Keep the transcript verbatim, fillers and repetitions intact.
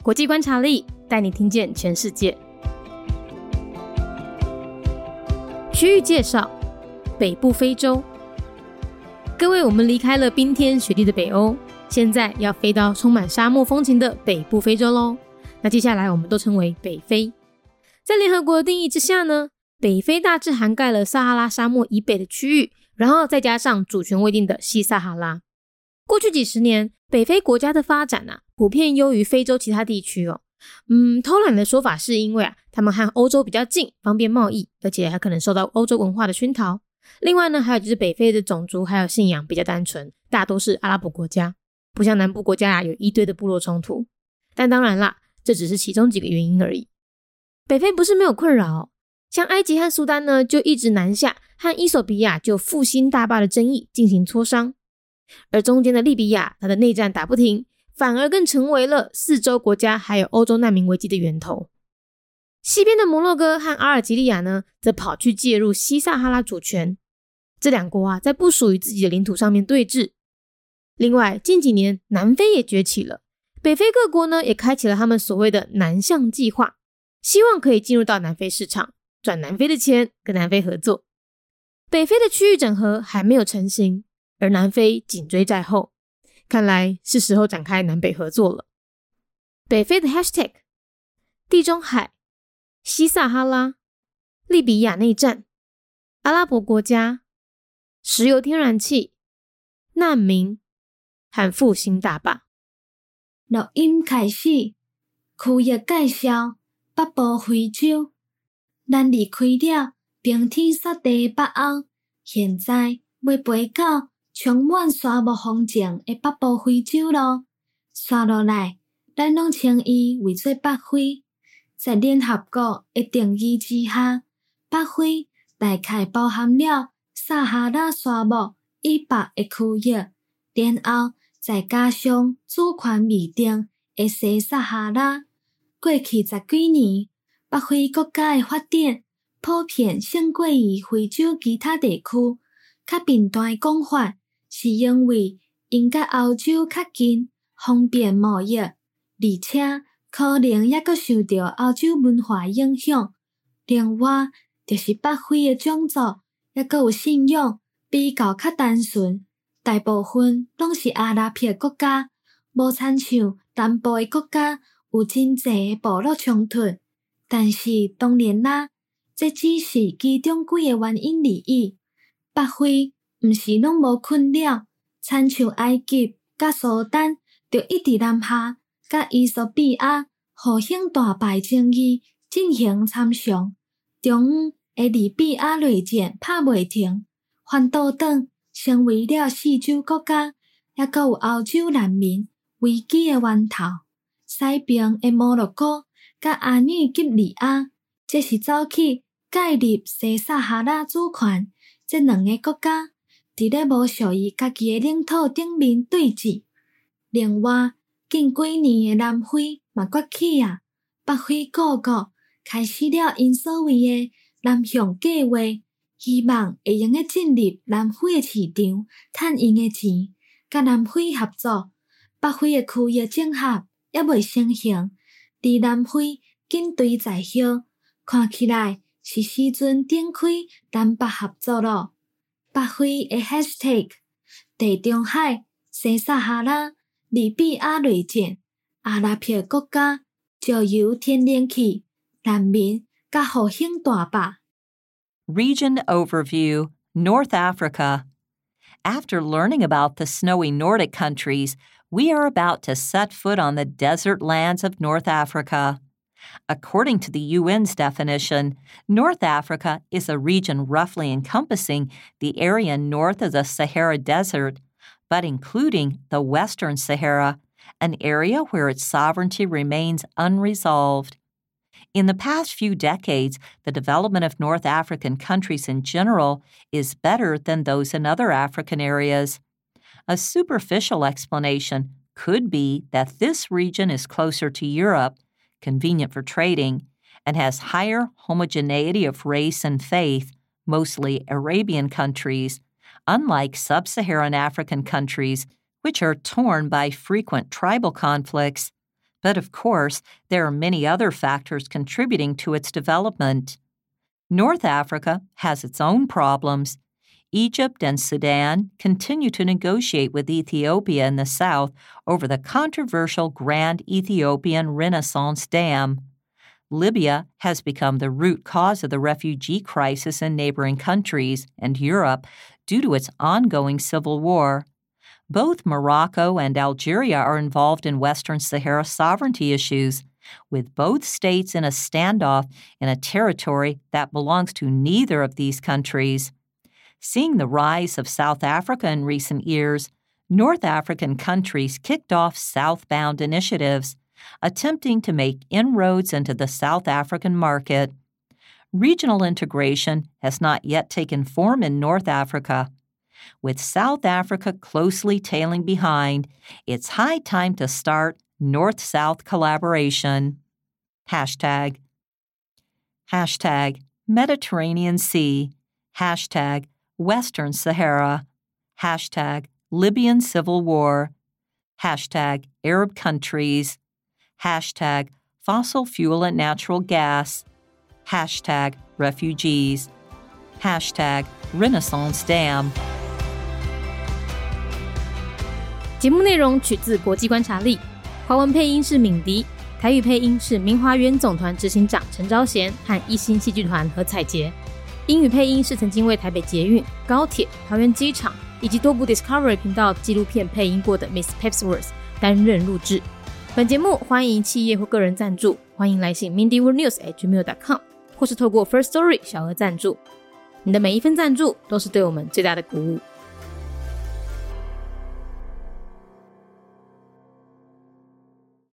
国际观察力带你听见全世界。区域介绍：北部非洲。各位，我们离开了冰天雪地的北欧，现在要飞到充满沙漠风情的北部非洲咯。那接下来我们都称为北非。在联合国的定义之下呢，北非大致涵盖了撒哈拉沙漠以北的区域，然后再加上主权未定的西撒哈拉。过去几十年，北非国家的发展啊，普遍优于非洲其他地区哦。嗯，偷懒的说法是因为啊，他们和欧洲比较近，方便贸易，而且还可能受到欧洲文化的熏陶。另外呢，还有就是北非的种族还有信仰比较单纯，大多是阿拉伯国家，不像南部国家啊有一堆的部落冲突。但当然啦，这只是其中几个原因而已。北非不是没有困扰哦，像埃及和苏丹呢，就一直南下和伊索比亚就复兴大坝的争议进行磋商。而中间的利比亚，它的内战打不停，反而更成为了四周国家还有欧洲难民危机的源头。西边的摩洛哥和阿尔及利亚呢，则跑去介入西撒哈拉主权。这两国啊，在不属于自己的领土上面对峙。另外，近几年南非也崛起了，北非各国呢，也开启了他们所谓的南向计划，希望可以进入到南非市场，赚南非的钱，跟南非合作。北非的区域整合还没有成型，而南非紧追在后，看来是时候展开南北合作了。北非的 hashtag 地中海、西撒哈拉、利比亚内战、阿拉伯国家、石油天然气、难民和复兴大坝。 录音开始，区域介绍：北部非洲。咱离开了冰天雪地的北欧，现在要飞到充满沙漠风情的北部非洲咯。刷落来，咱拢称伊为做北非。在联合国的定义之下，北非大概包含了撒哈拉沙漠以北的区域，然后再加上主权未定的西撒哈拉。过去十几年，北非国家的发展普遍胜过于非洲其他地区。较频繁的讲法是因为因甲欧洲较近，方便贸易，而且可能也阁受到欧洲文化影响。另外，就是北非的种族也阁有信仰比较较单纯，大部分拢是阿拉伯国家，无亲像南部的国家有真侪的部落冲突。但是当然啦，这只是其中几个原因而已。北非毋是拢无困扰，亲像埃及甲苏丹就一直南下，甲伊索比亚互兴大败争议进行参详。中央的利比亚内战拍袂停，反倒转成为了四周国家，也阁有欧洲难民危机的源头。西边的摩洛哥甲阿女吉利亚，这是走去介入西撒哈拉主权。这两个国家伫咧无属于家己的领土顶面对峙。另外，近几年的南非嘛崛起啊，北非各国开始了因所谓的南向计划，希望会用个进入南非的市场，赚因的钱，甲南非合作。北非的区域整合也未成型，而南非紧追在后，看起来是时阵展开南北合作咯。北非的 hashtag 地中海、西撒哈拉、利比亚内战、阿拉伯国家、石油天然气、难民甲复兴大坝。 Region Overview, North Africa. After learning about the snowy Nordic countries, we are about to set foot on the desert lands of North Africa. According to the U N's definition, North Africa is a region roughly encompassing the area north of the Sahara Desert, but including the Western Sahara, an area where its sovereignty remains unresolved. In the past few decades, the development of North African countries in general is better than those in other African areas. A superficial explanation could be that this region is closer to Europe, convenient for trading, and has higher homogeneity of race and faith, mostly Arabian countries, unlike sub-Saharan African countries, which are torn by frequent tribal conflicts. But of course, there are many other factors contributing to its development. North Africa has its own problems. Egypt and Sudan continue to negotiate with Ethiopia in the south over the controversial Grand Ethiopian Renaissance Dam. Libya has become the root cause of the refugee crisis in neighboring countries and Europe due to its ongoing civil war. Both Morocco and Algeria are involved in Western Sahara sovereignty issues, with both states in a standoff in a territory that belongs to neither of these countries. Seeing the rise of South Africa in recent years, North African countries kicked off southbound initiatives, attempting to make inroads into the South African market. Regional integration has not yet taken form in North Africa. With South Africa closely tailing behind, it's high time to start North-South collaboration. Hashtag. Hashtag Mediterranean Sea. Hashtag Western Sahara. Hashtag Libyan Civil War. Hashtag Arab countries. Hashtag fossil fuel and natural gas. Hashtag refugees. Hashtag Renaissance Dam。 节目内容取自国际观察力，华文配音是敏迪，台语配音是明华园总团执行长陈昭贤和一星戏剧团何彩杰，英语配音是曾经为台北捷运、高铁、桃园机场以及多部 Discovery 频道纪录片配音过的 Miss Pepsworth 担任录制。本节目欢迎企业或个人赞助，欢迎来信 mindy world news at gmail dot com 或是透过 First Story 小额赞助。你的每一份赞助都是对我们最大的鼓舞。